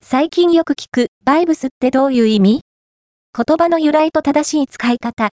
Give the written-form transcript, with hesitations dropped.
最近よく聞くバイブスってどういう意味？言葉の由来と正しい使い方、